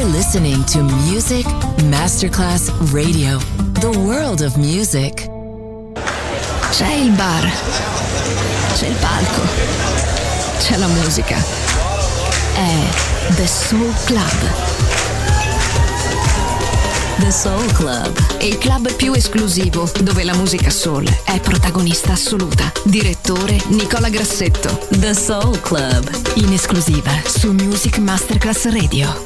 You're listening to Music Masterclass Radio, the world of music. C'è il bar, c'è il palco, c'è la musica. È The Soul Club. The Soul Club, Il club più esclusivo dove la musica soul è protagonista assoluta. Direttore Nicola Grassetto. The Soul Club, In esclusiva su Music Masterclass Radio.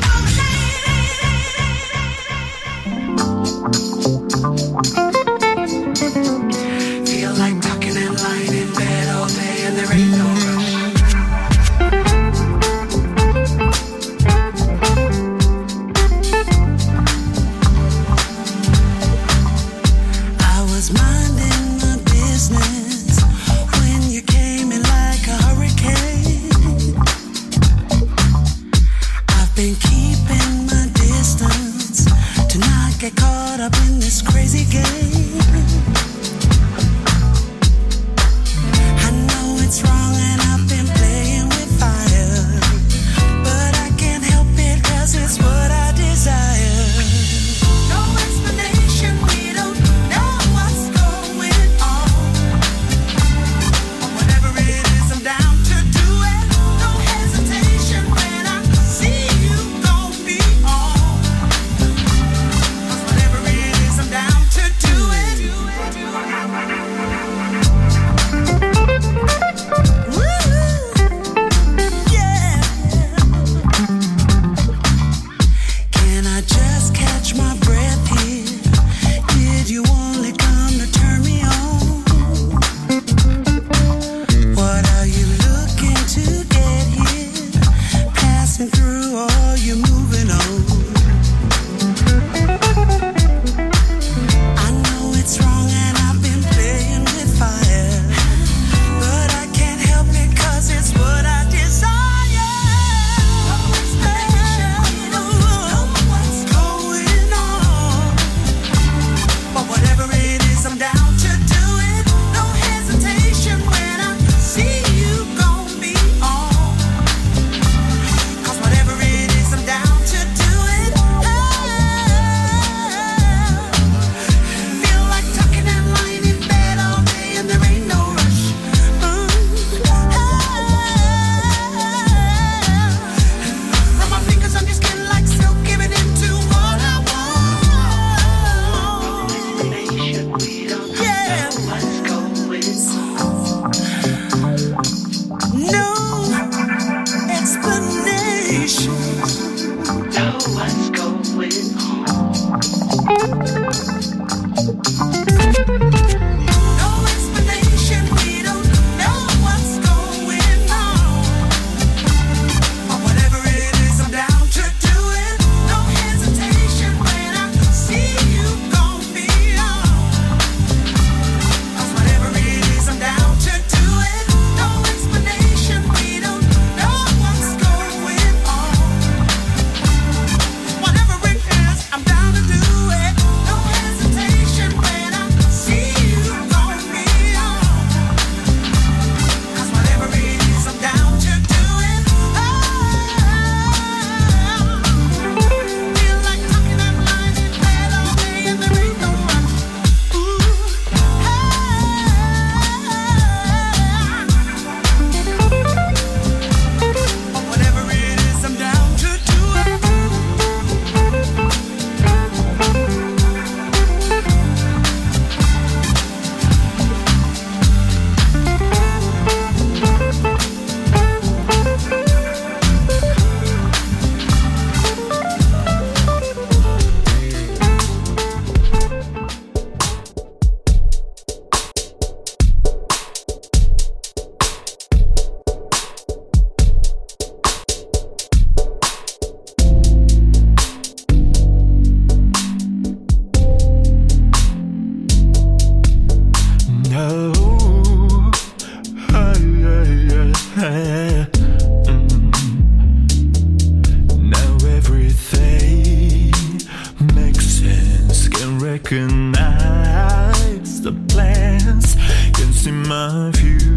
recognize the plans, can see my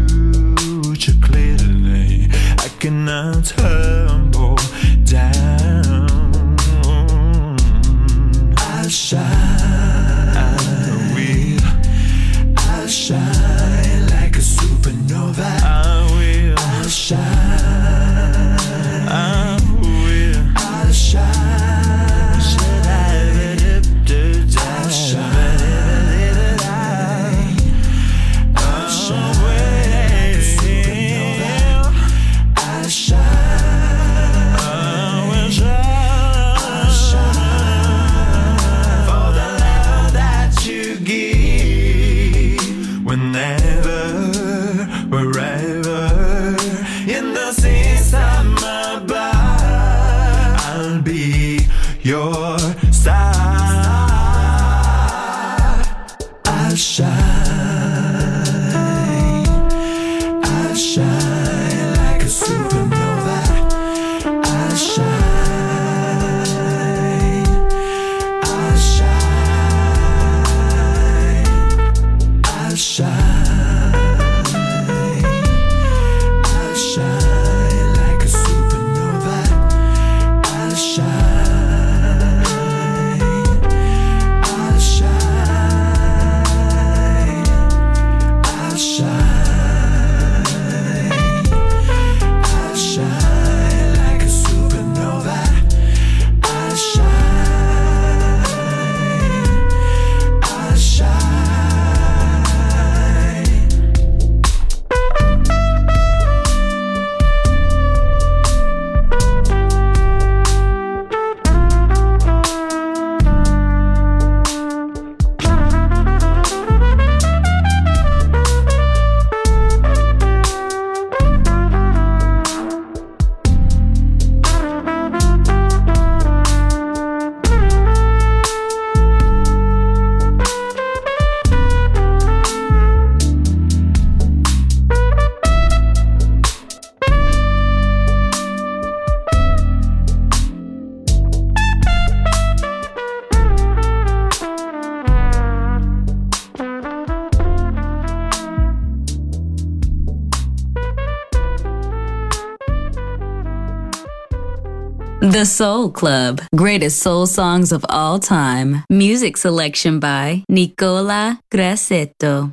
future clearly. I cannot tumble down. your side. I'll shine, I'll shine like a supernova. I'll shine, I'll shine, I'll shine. The Soul Club, greatest soul songs of all time. Music selection by Nicola Grassetto.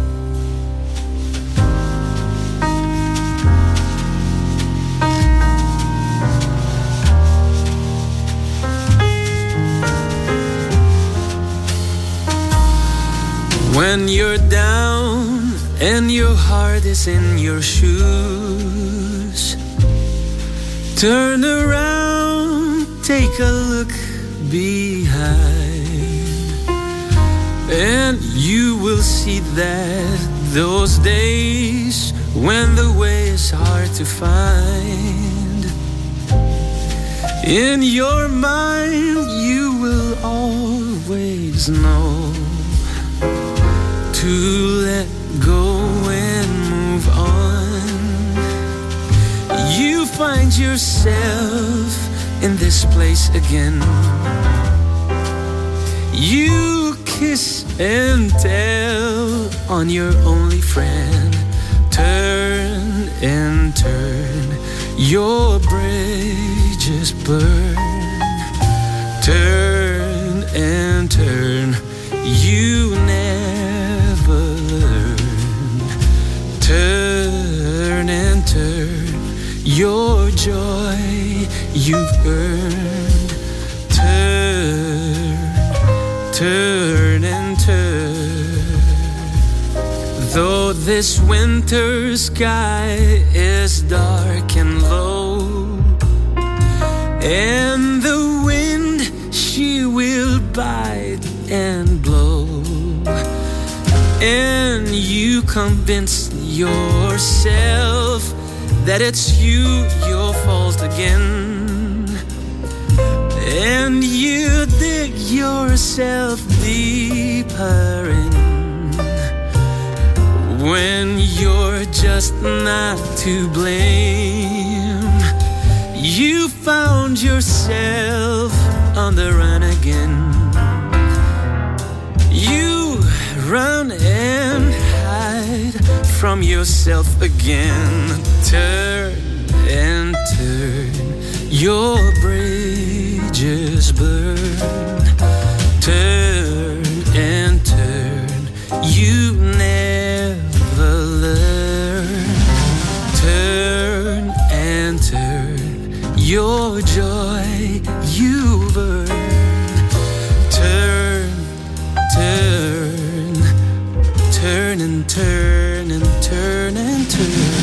When you're down and your heart is in your shoes, turn around, take a look behind, and you will see that those days when the way is hard to find, in your mind you will always know to let go and move on. You find yourself in this place again. You kiss and tell on your only friend. Turn and turn, your bridges burn. Turn and turn, you never learn. Turn and turn, your joy you've earned. Turn, turn and turn. Though this winter sky is dark and low, and the wind she will bite and blow, and you convince yourself that it's your fault again, and you dig yourself deeper in, when you're just not to blame. You found yourself on the run again. You run and hide from yourself again. Turn and turn, your bridges burn. Turn and turn, you never learn. Turn and turn, your joy you've earned. Turn, turn, turn and turn and turn and turn.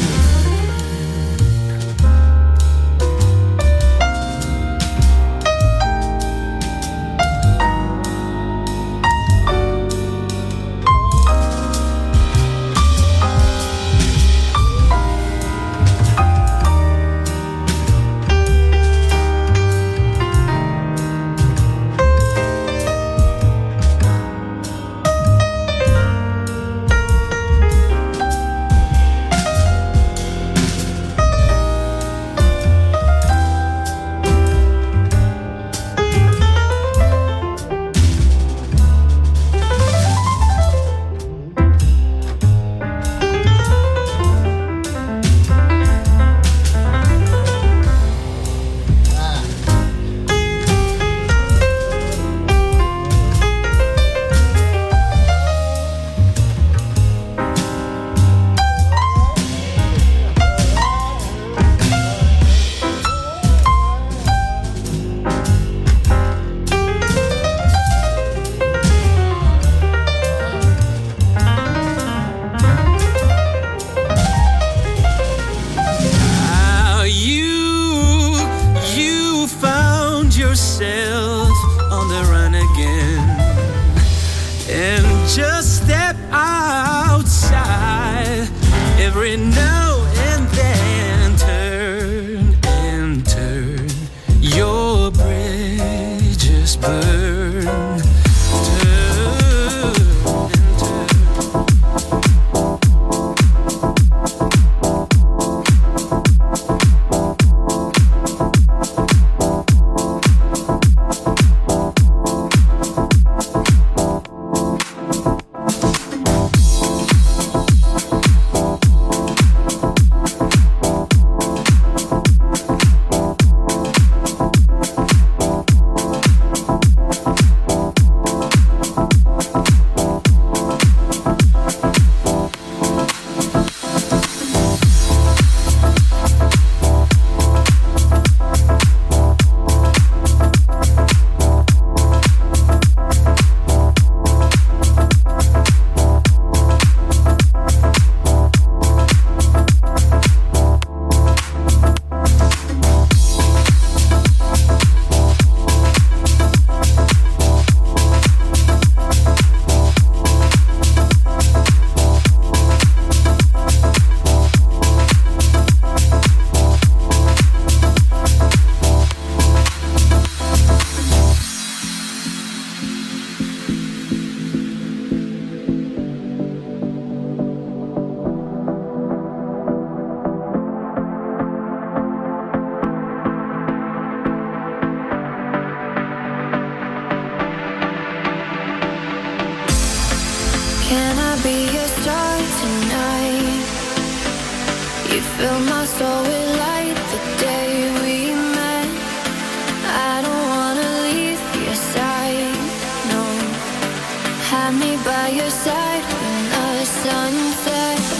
Fill my soul with light the day we met. I don't wanna leave your side, no. Have me by your side when the sun sets.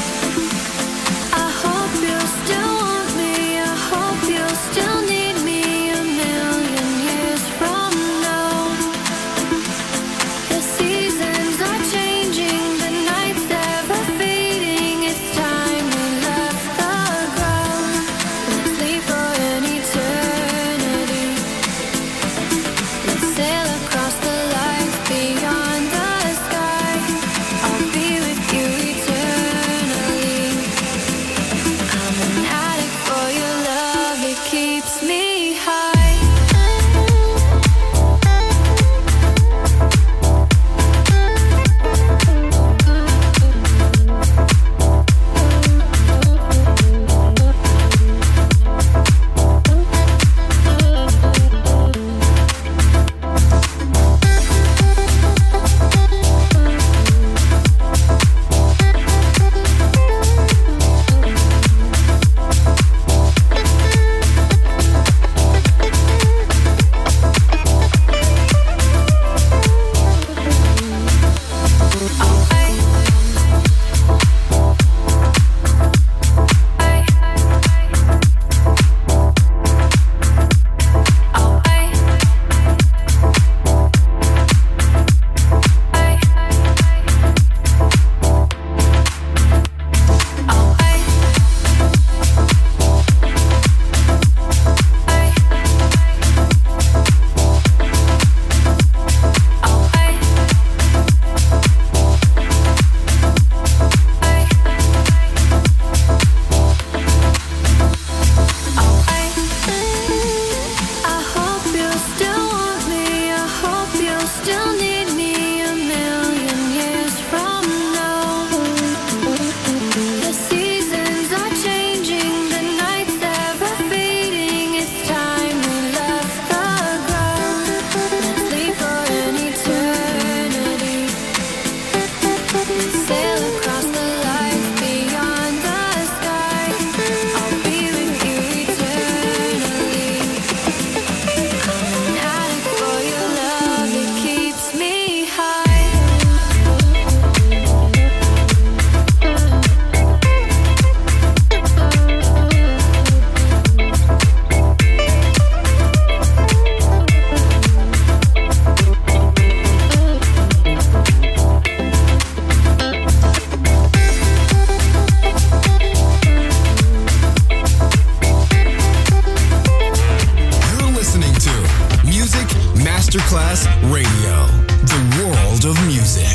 I hope you still want me, I hope you still need me a million years from now. The seasons are changing, the nights ever fading. It's time we left the ground. Let's leave for an eternity. Let's sail across the lights beyond the sky. I'll be with you eternally. I'm an addict for your love, it keeps me high. Masterclass Radio, the world of music.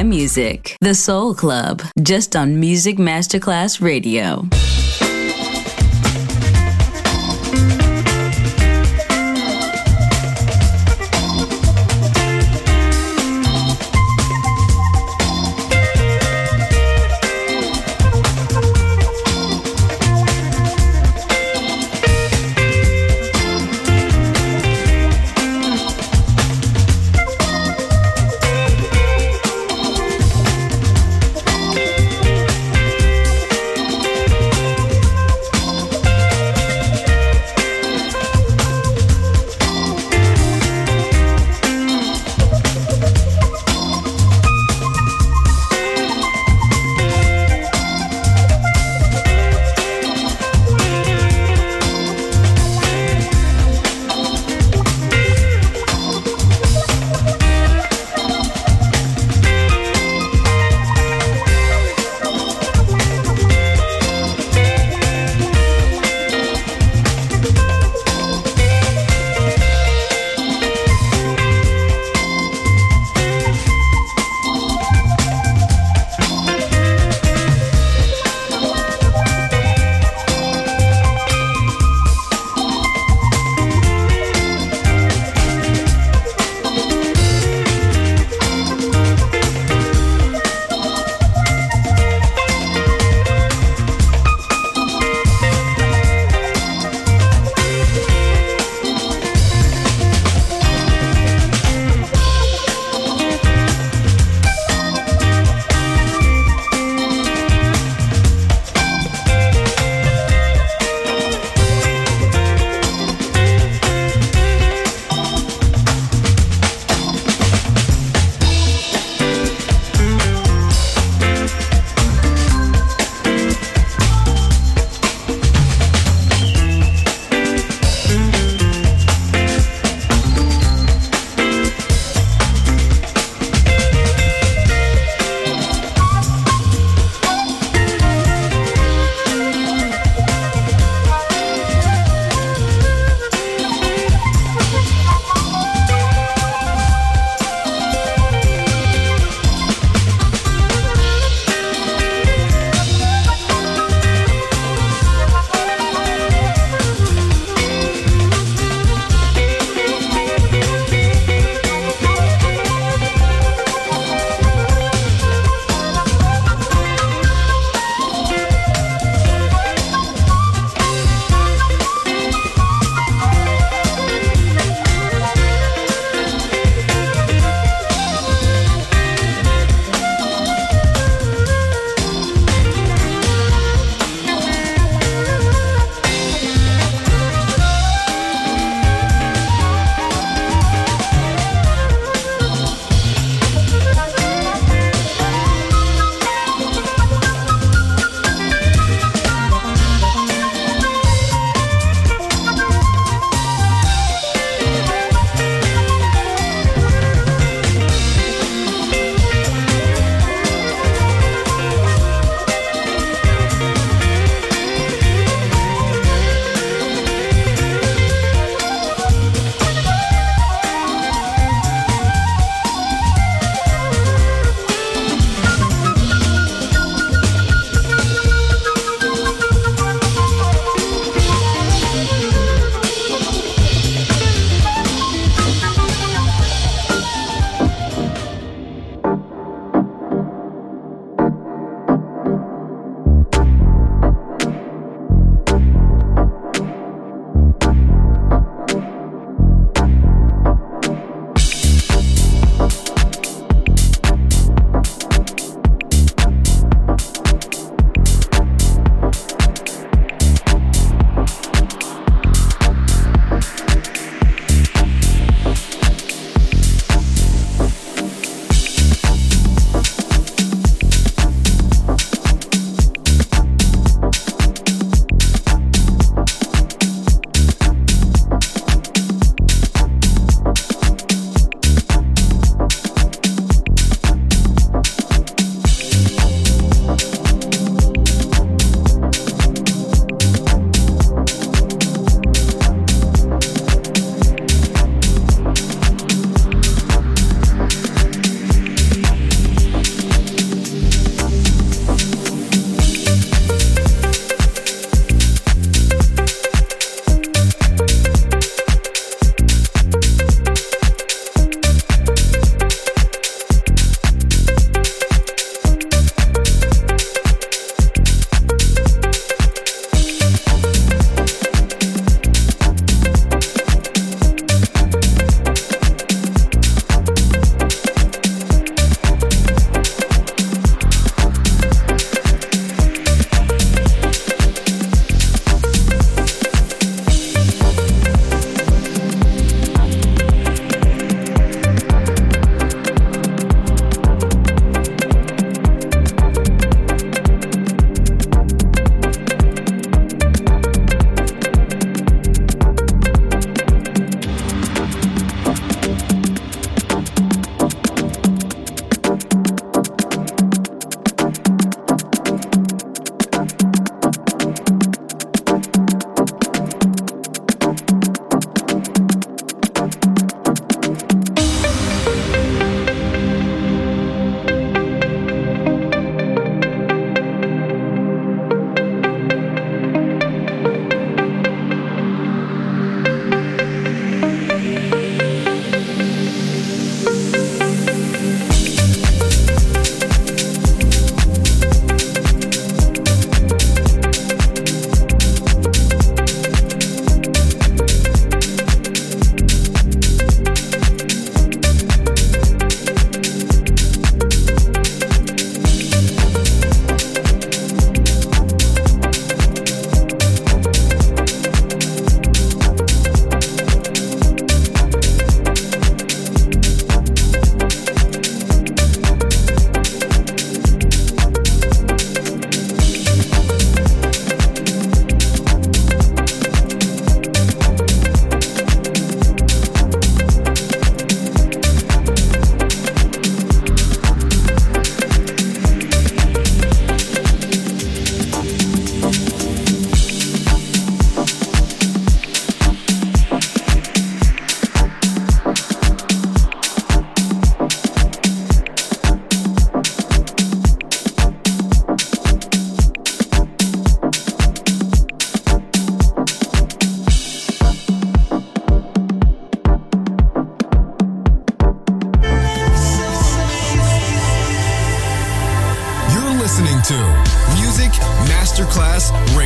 by music. The Soul Club, just on Music Masterclass Radio.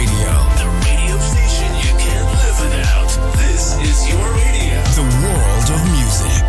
Radio. The radio station you can't live without. This is your radio. The world of music.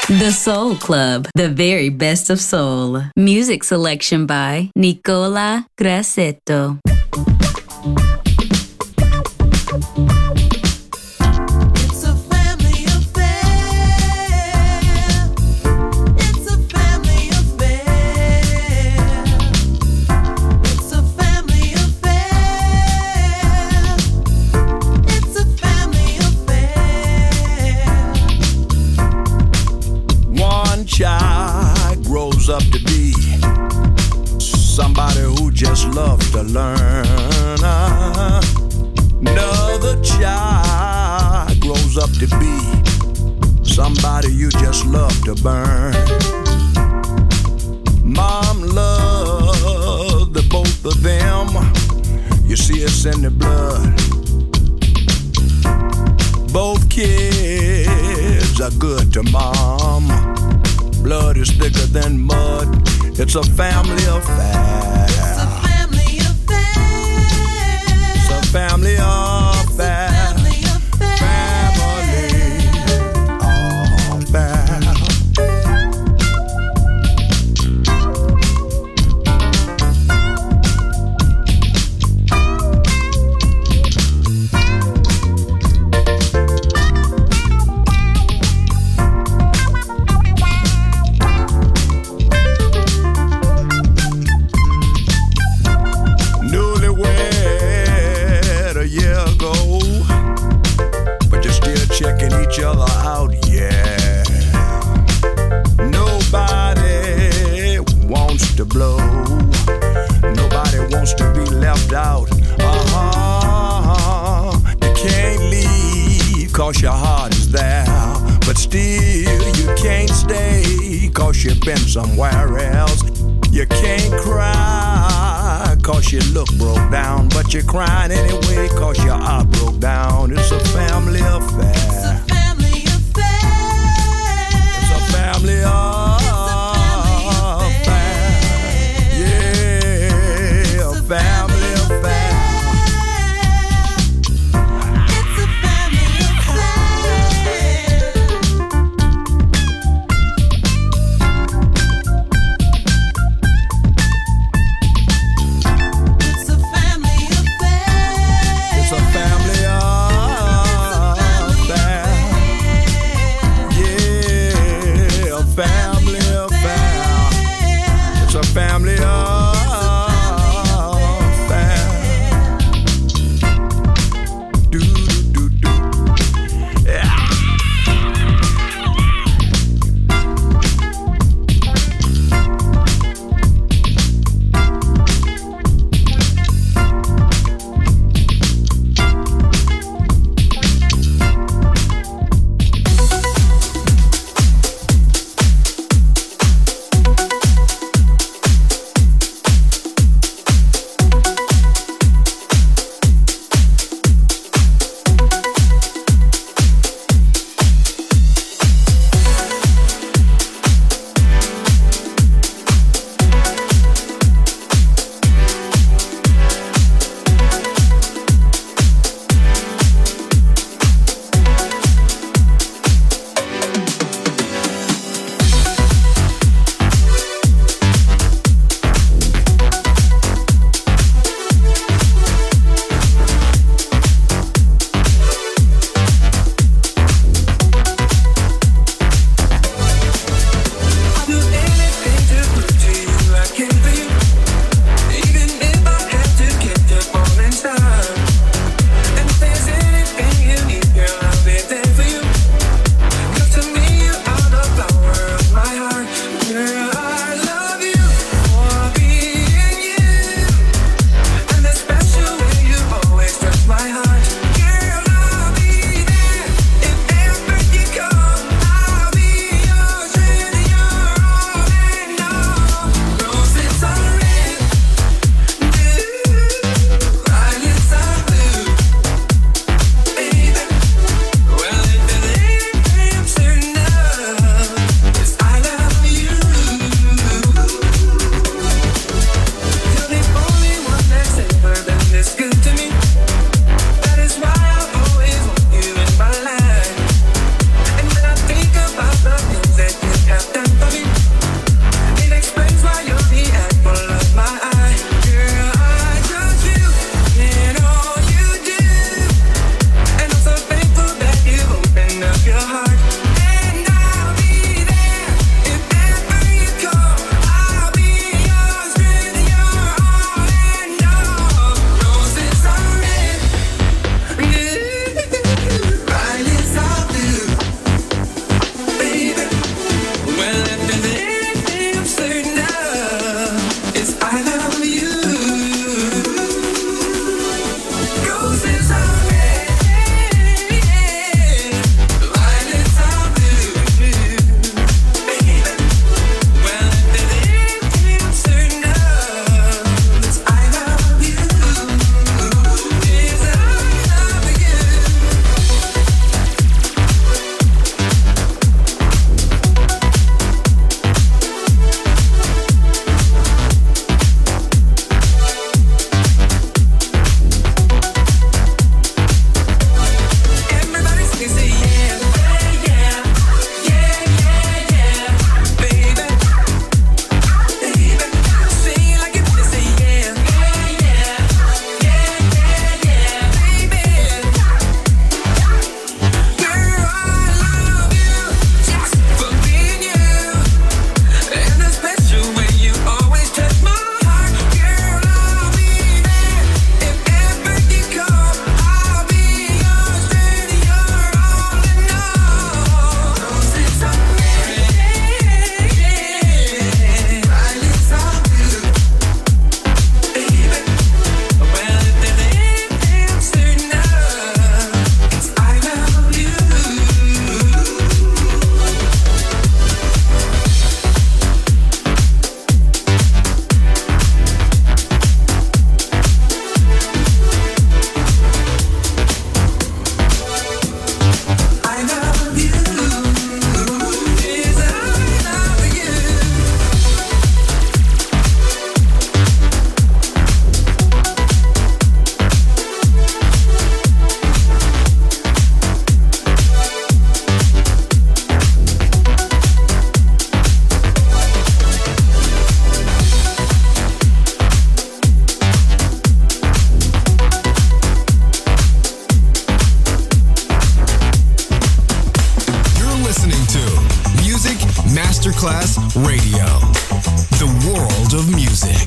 The Soul Club, the very best of soul. Music selection by Nicola Grassetto. Child grows up to be somebody who just loves to learn. Another child grows up to be somebody you just love to burn. Mom loves the both of them. You see it's in the blood. Both kids are good to mom. Blood is thicker than mud. It's a family affair. It's a family affair. It's a family affair. Family affair. Family affair. Checking each other out, yeah. Nobody wants to blow. Nobody wants to be left out. You can't leave 'cause your heart is there. But still you can't stay 'cause you've been somewhere else. You can't cry 'cause you look broke down. But you're crying anyway 'cause your heart broke down. It's a family affair. It's a family affair. It's a family affair. Yeah, a family affair. It's a family affair. It's a family affair. It's a family affair. listening to Music Masterclass Radio, the world of music.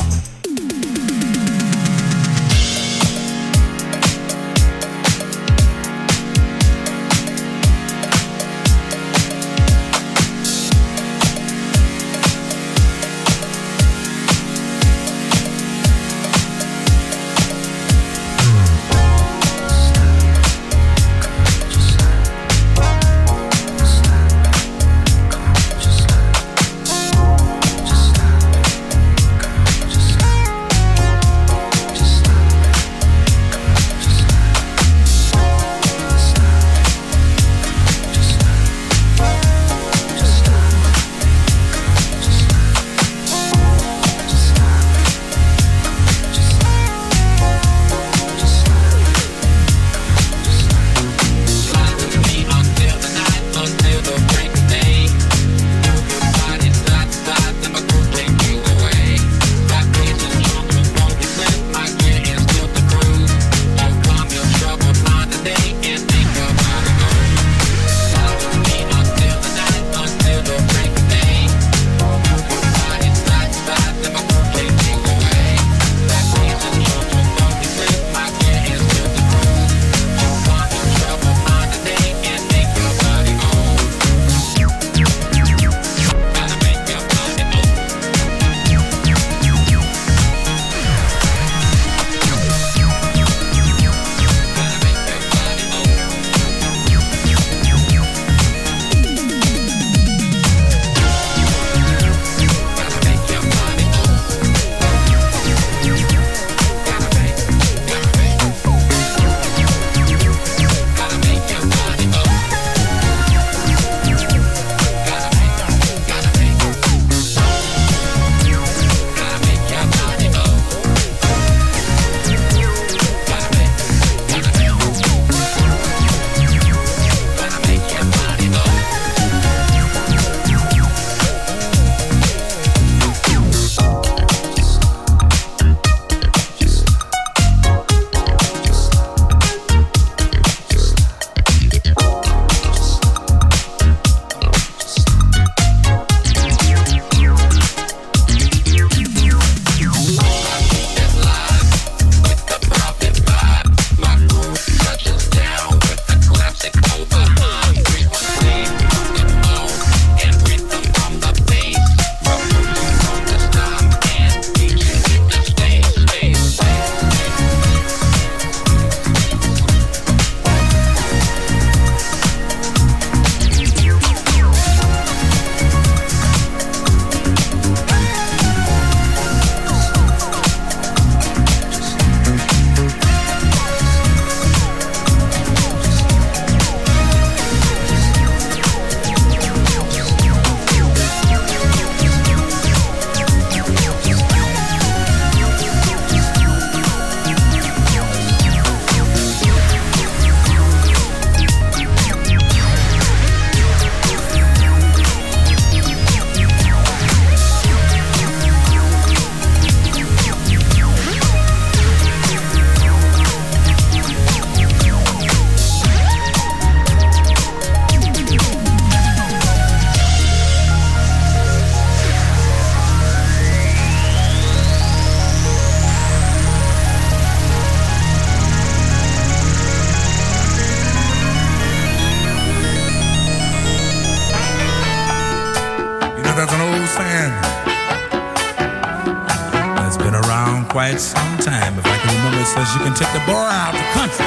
quite some time. If I can remember, it says you can take the boy out the country,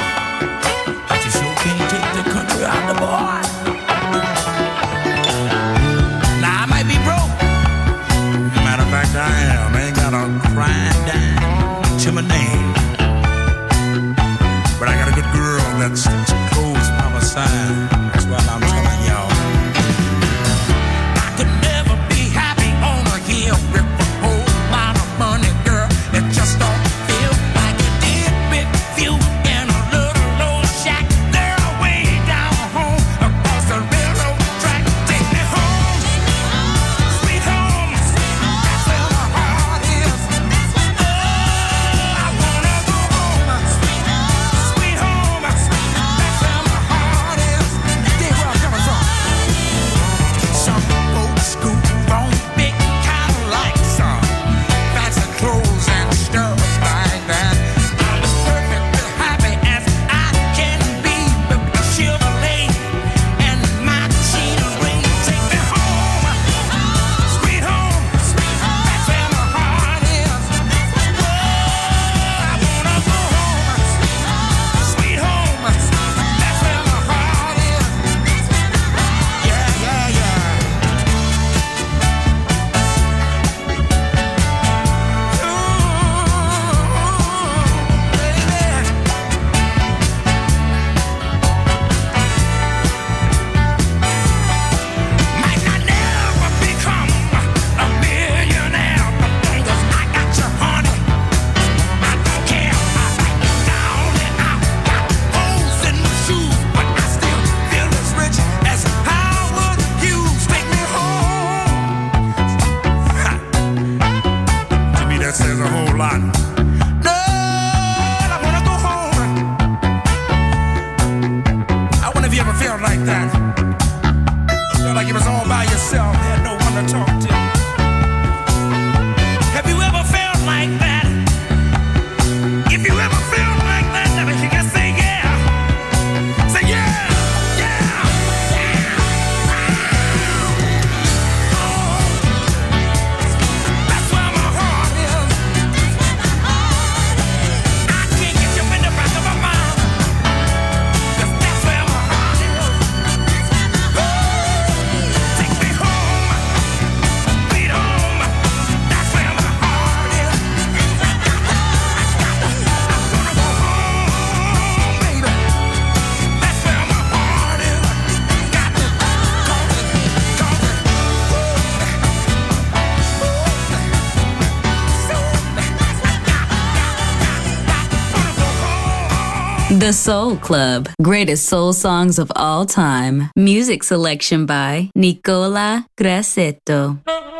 but you sure can't take the country out the boy. Now, I might be broke. Matter of fact, I am. I ain't got a crying dime to my name. But I got a good girl that sticks close by my side. That's what I'm telling y'all. I could never be happy on a hill with a whole lot of money, girl. It just don't feel like it did with you in a little old shack there way down home. myself, had no one to talk to. Have you ever felt like that? If you ever felt like that, let me hear you say yeah. Say yeah, yeah, yeah. Oh, that's where my heart is. I can't get you in the back of my mind. 'Cause that's where my heart is. Take me home, beat home. That's where my heart is. I'm gonna go home, baby. That's where my heart is. Got to The Soul Club. Greatest soul songs of all time. Music selection by Nicola Grassetto.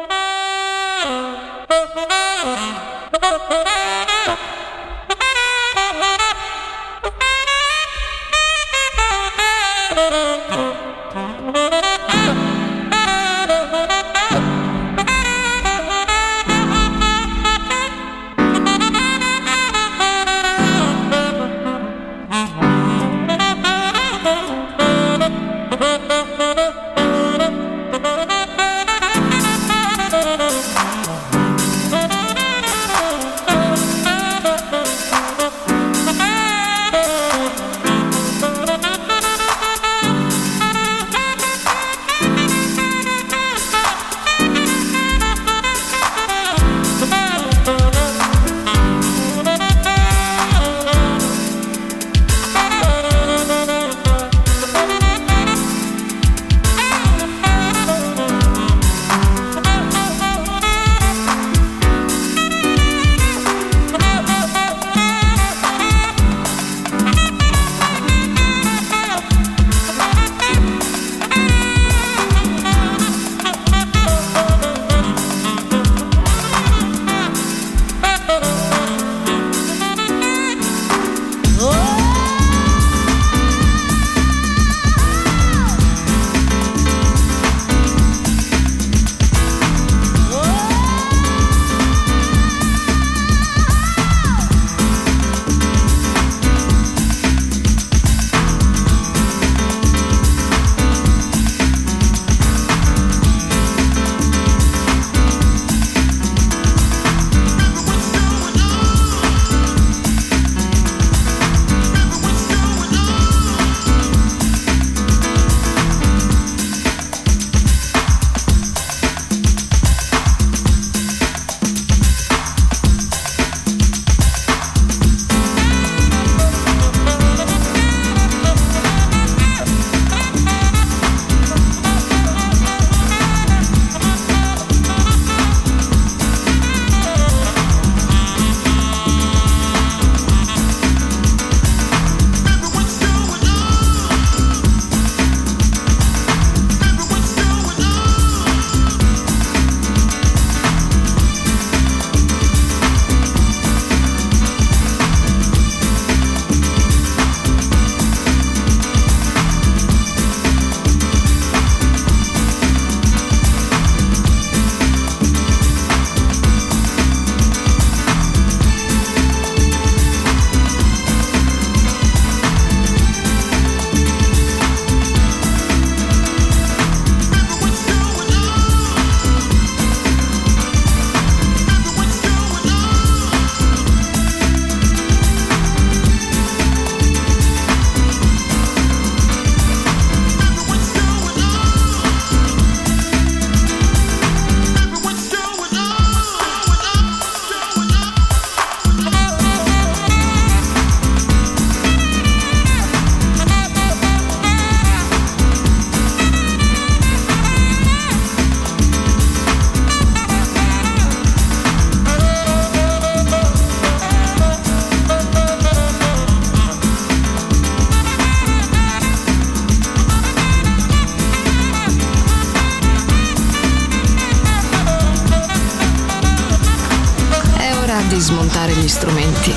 di smontare gli strumenti,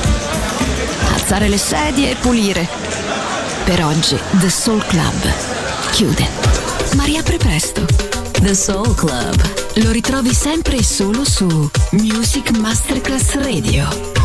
alzare le sedie e pulire. Per oggi The Soul Club chiude, ma riapre presto. The Soul Club. Lo ritrovi sempre e solo su Music Masterclass Radio.